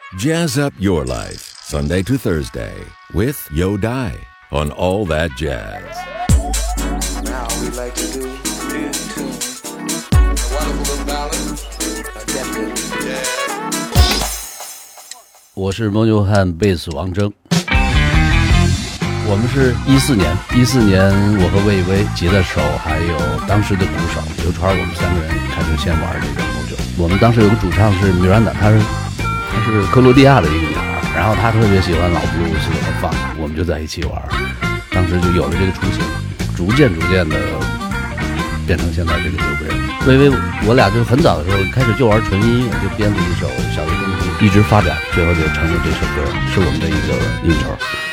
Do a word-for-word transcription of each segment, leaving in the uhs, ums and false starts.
Jazz up your life, Sunday to Thursday, with Yo Dai on All That Jazz. Now we like to do new tune. A wonderful ballad, a definite jazz. 我是蒙牛汉贝斯王铮。我们是一四年，一四年我和魏巍吉他手还有当时的鼓手刘川，我们三个人开始先玩这个蒙牛。我们当时有个主唱是米兰达，她是她是克罗地亚的一个女孩，然后她特别喜欢老布鲁斯和放，我们就在一起玩，当时就有了这个雏形，逐渐逐渐的变成现在这个六个人。魏巍我俩就很早的时候开始就玩纯音乐，就编了一首小乐东西，一直发展，最后就成了这首歌，是我们的一个应酬。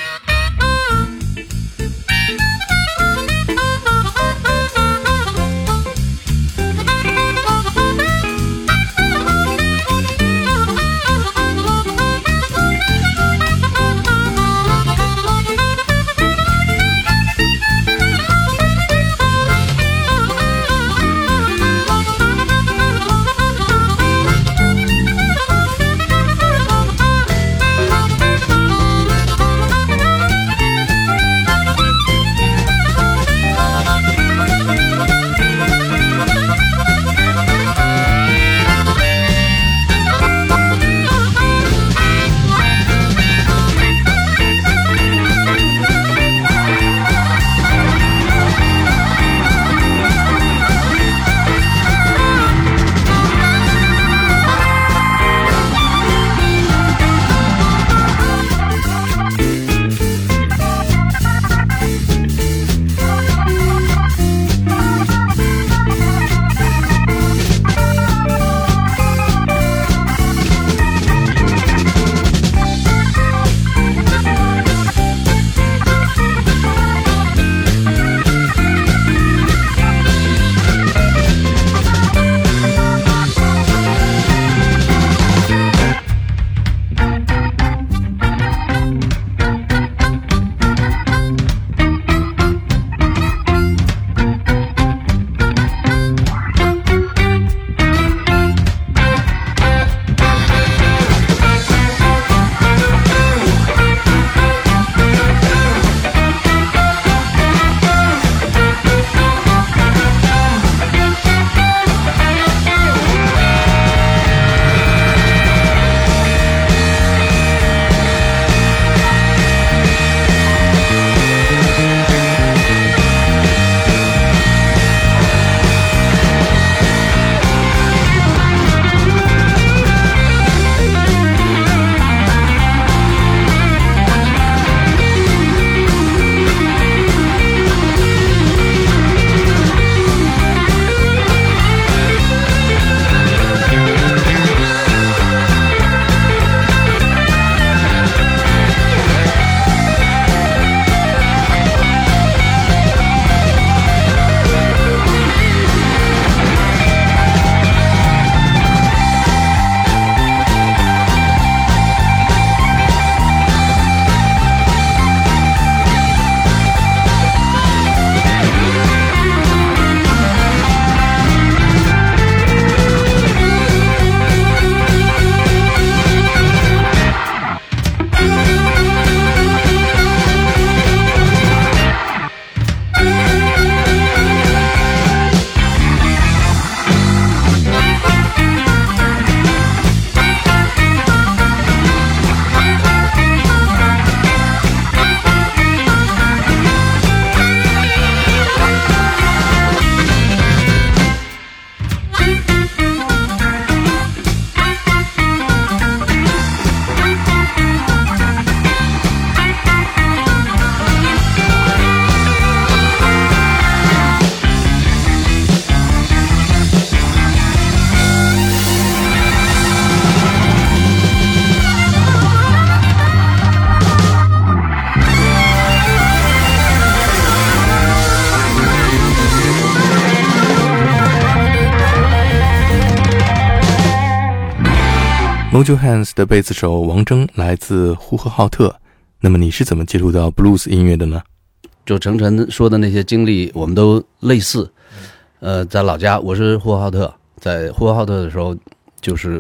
Mojo Hands 的贝斯手王铮来自呼和浩特，那么你是怎么接触到 blues 音乐的呢？ 就程晨说的那些经历我们都类似。呃，在老家我是呼和浩特，在呼和浩特的时候就是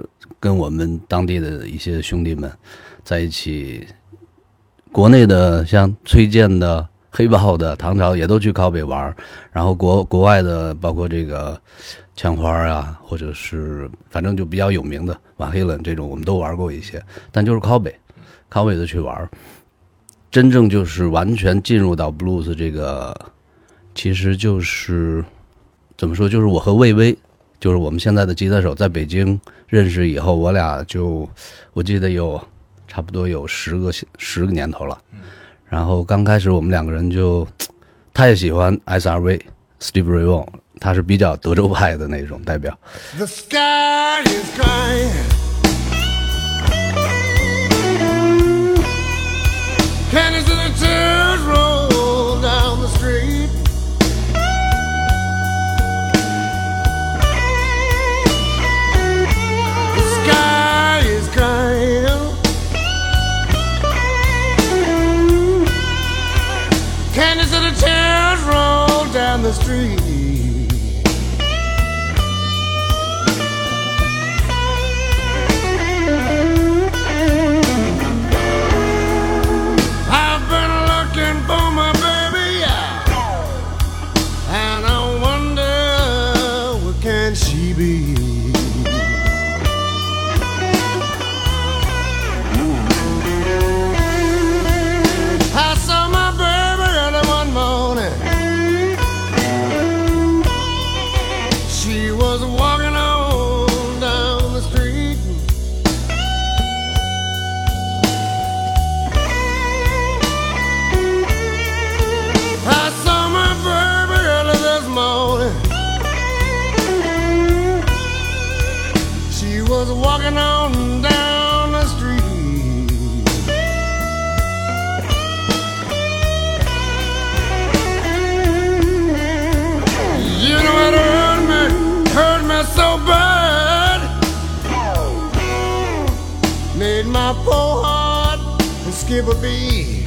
跟我们当地的一些兄弟们在一起，国内的像崔健的、黑豹的、唐朝也都去靠北玩，然后国国外的包括这个枪花啊，或者是反正就比较有名的瓦黑冷这种，我们都玩过一些，但就是靠北靠北的去玩，真正就是完全进入到 blues 这个，其实就是怎么说，就是我和魏巍，就是我们现在的吉他手，在北京认识以后，我俩就我记得有差不多有十个十个年头了。然后刚开始我们两个人就，他也喜欢 S R V、Steve Ray Vaughan， 他是比较德州派的那种代表。 The sky is crying. Cannons and the tears roll down the street. The sky is crying. Cannons and the tears roll down the street. Walking on down the street. You know it hurt me, hurt me so bad. Made my poor heart skip a beat.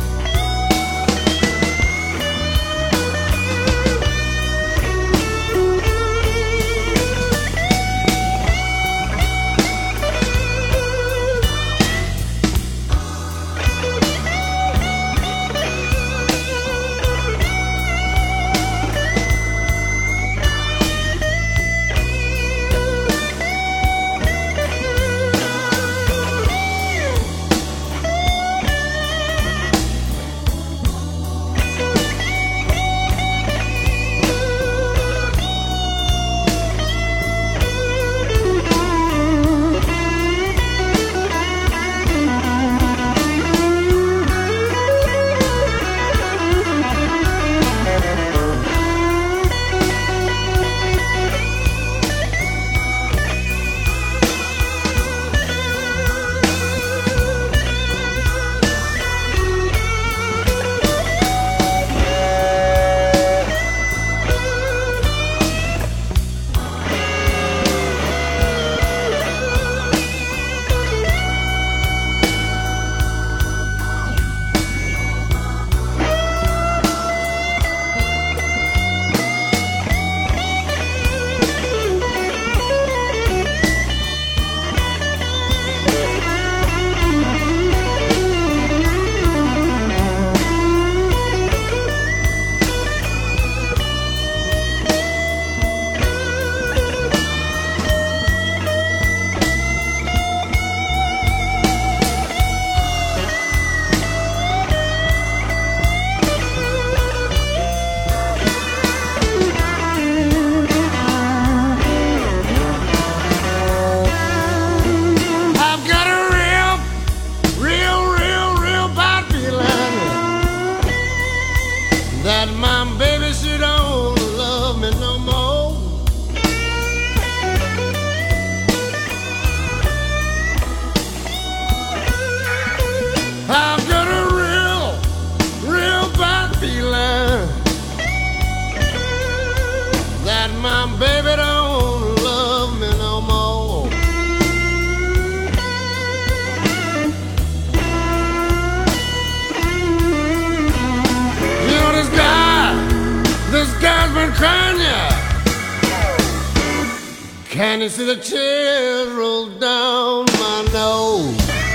Can you see the tears roll down my nose?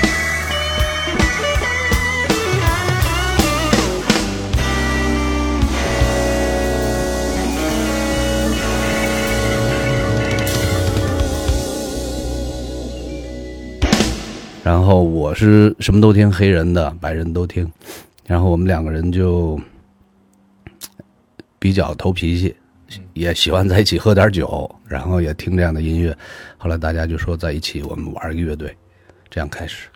然后我是什么都听，黑人的白人都听，然后我们两个人就比较投脾气，也喜欢在一起喝点酒，然后也听这样的音乐，后来大家就说在一起我们玩一个乐队，这样开始。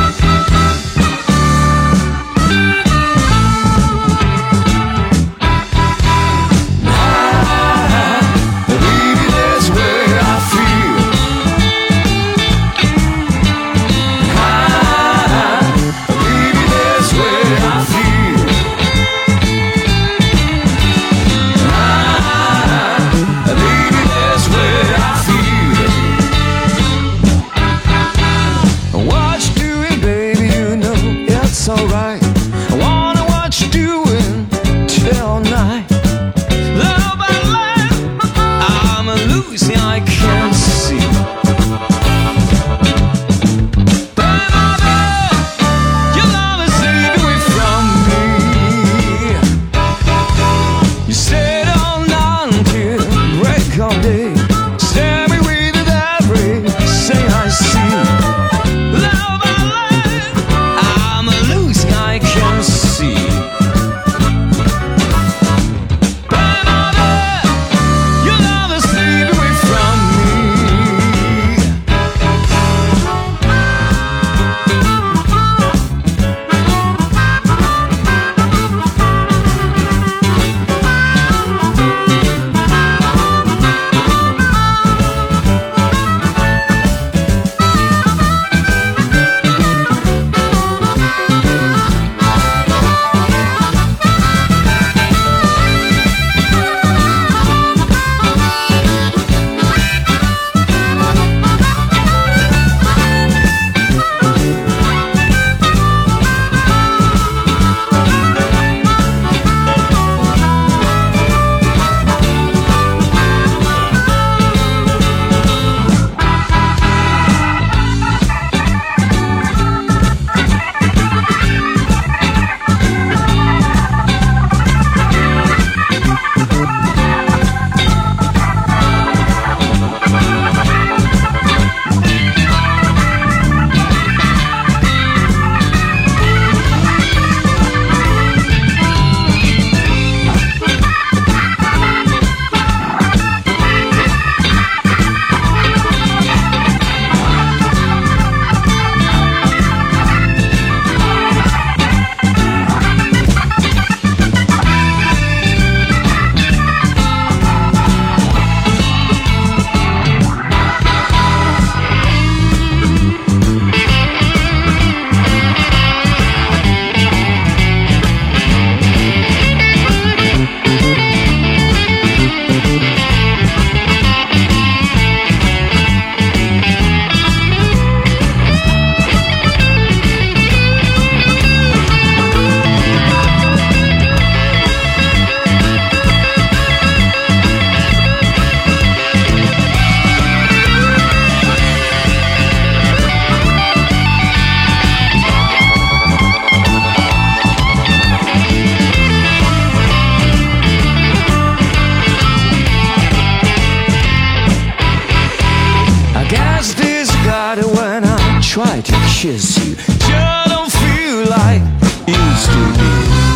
Kiss you, just don't feel like used to be.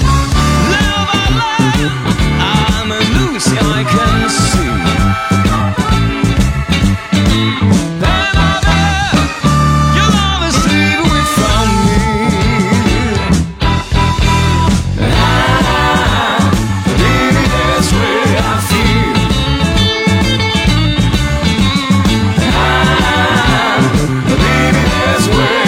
Live my life, I'm a loose, I can see. Baby, your love is sleep away from me. Ah, baby, that's where I feel. Ah, baby, that's where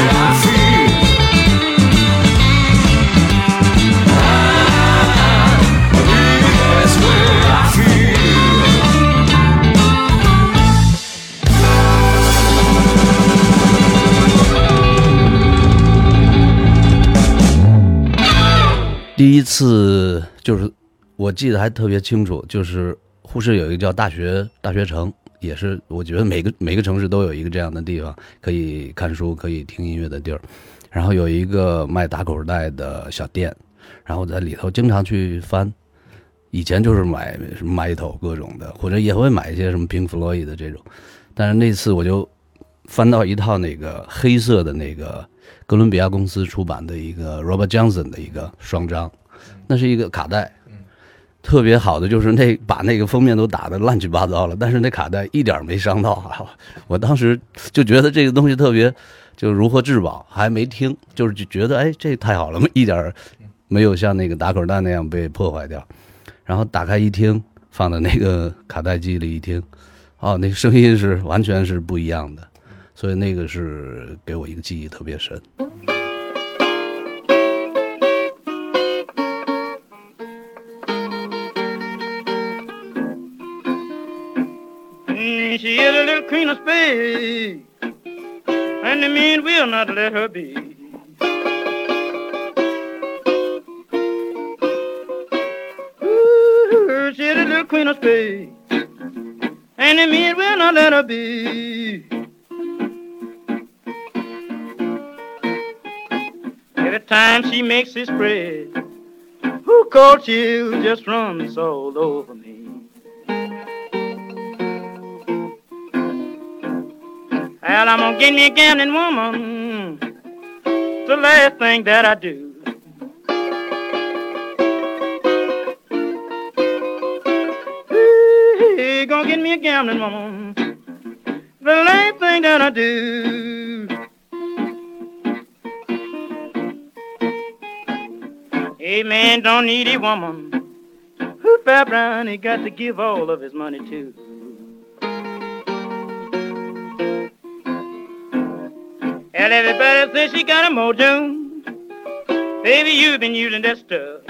第一次就是我记得还特别清楚，就是呼市有一个叫大学大学城， 也是我觉得每个每个城市都有一个这样的地方，可以看书可以听音乐的地儿。然后有一个卖打口袋的小店，然后在里头经常去翻，以前就是买什么 Metal 各种的，或者也会买一些什么 Pink Floyd 的这种，但是那次我就翻到一套那个黑色的那个哥伦比亚公司出版的一个 Robert Johnson 的一个双张，那是一个卡带，特别好的就是那把那个封面都打得乱七八糟了，但是那卡带一点没伤到啊！我当时就觉得这个东西特别就如获至宝，还没听，就是就觉得哎这太好了，一点没有像那个打口袋那样被破坏掉。然后打开一听，放在那个卡带机里一听，哦，那个声音是完全是不一样的，所以那个是给我一个记忆特别深。 She is a little queen of spades, and the men will not let her be. Ooh, she is a little queen of spades, and the men will not let her be. Every time she makes it spread, who cold chill just runs all over me. Well, I'm gonna get me a gambling woman, the last thing that I do. Hey, gonna get me a gambling woman, the last thing that I do. Hey, man don't need a woman who fat brown he got to give all of his money to. And everybody says she got a mojo. Baby, you've been using that stuff.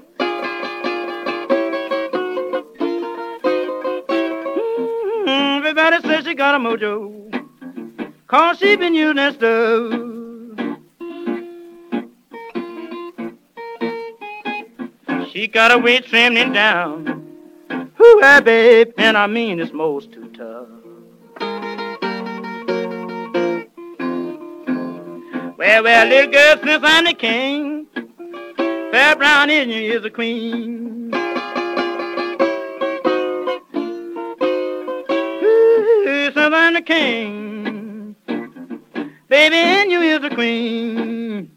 Mm-hmm. Everybody says she got a mojo, 'cause she been using that stuff. She got her weight trimmed down. Ooh, hey, babe, and I mean it's most too tough. Well, well, little girl, since I'm the king, fair brown in you is a queen. Ooh, since I'm the king, baby, in you is a queen.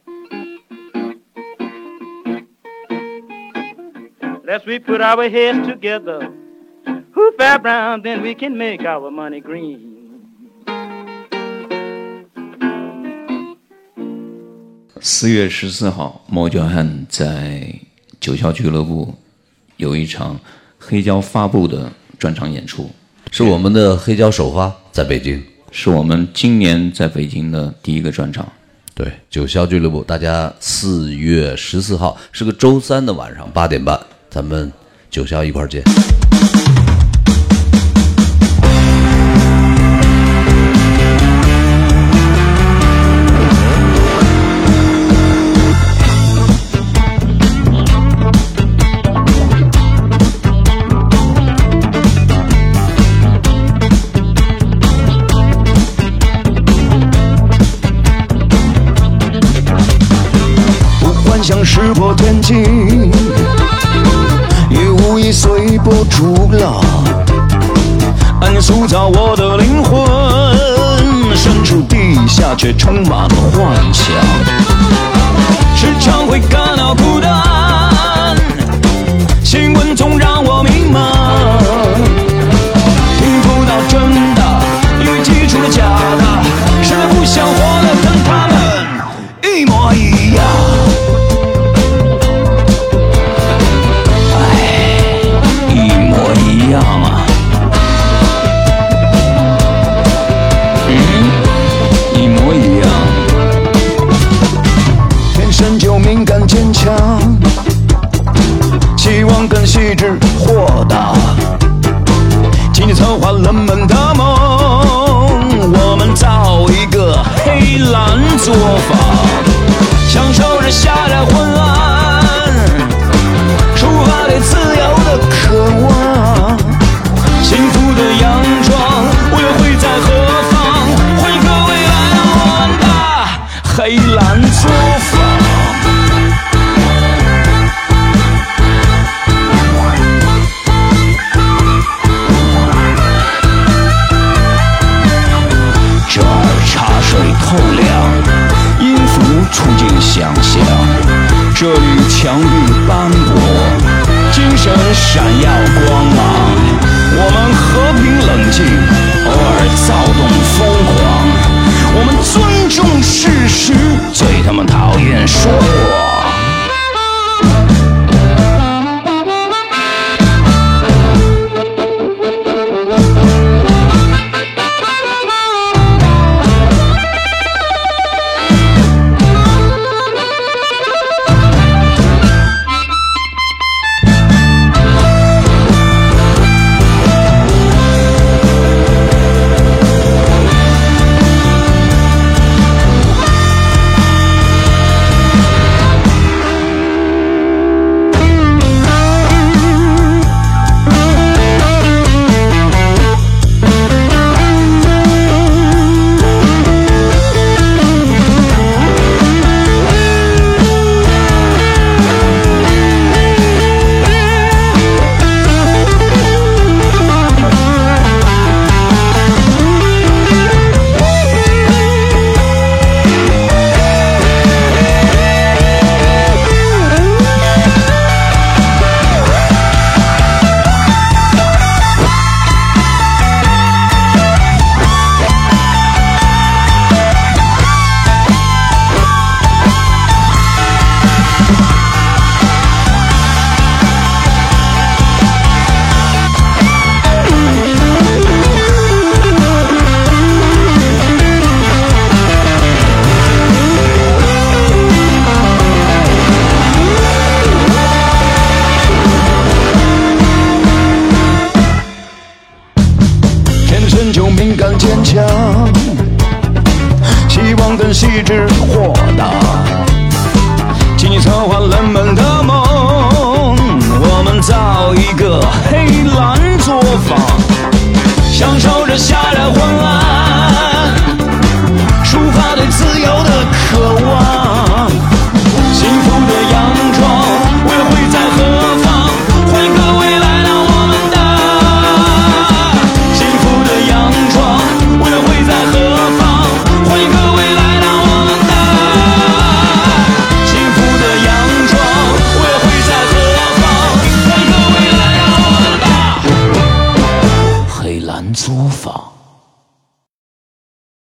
Let's we put our heads together, who fair brown, then we can make our money green. 四月十四号，猫脚汉在九霄俱乐部有一场黑胶发布的专场演出， 是我们的黑胶首发，在北京， 是我们今年在北京的第一个专场。 对，九霄俱乐部，大家四月十四号是个周三的晚上八点半，咱们九霄一块儿见。 想石破天惊，也无意随波逐浪，暗夜塑造我的灵魂，深处地下却充满了幻想，时常会感到孤单，新闻总让我迷茫，听不到真的，因为记住了假的，实在不想活得跟他们一模一样。一样啊，嗯，一模一样。天生就敏感坚强，希望更细致豁达。今天策划人们的梦，我们造一个黑蓝作坊，享受着夏日昏暗，抒发对自由的渴望。幸福的扬州黑蓝作坊。这儿茶水透亮，音符触进想象，这里墙壁斑驳，精神闪耀光芒。我们和平冷静，偶尔躁动疯狂。我们尊重事实，最他妈讨厌说谎。就敏感坚强，希望更细致豁达，请你策划人们的梦，我们造一个黑蓝作坊，享受着夏日昏暗，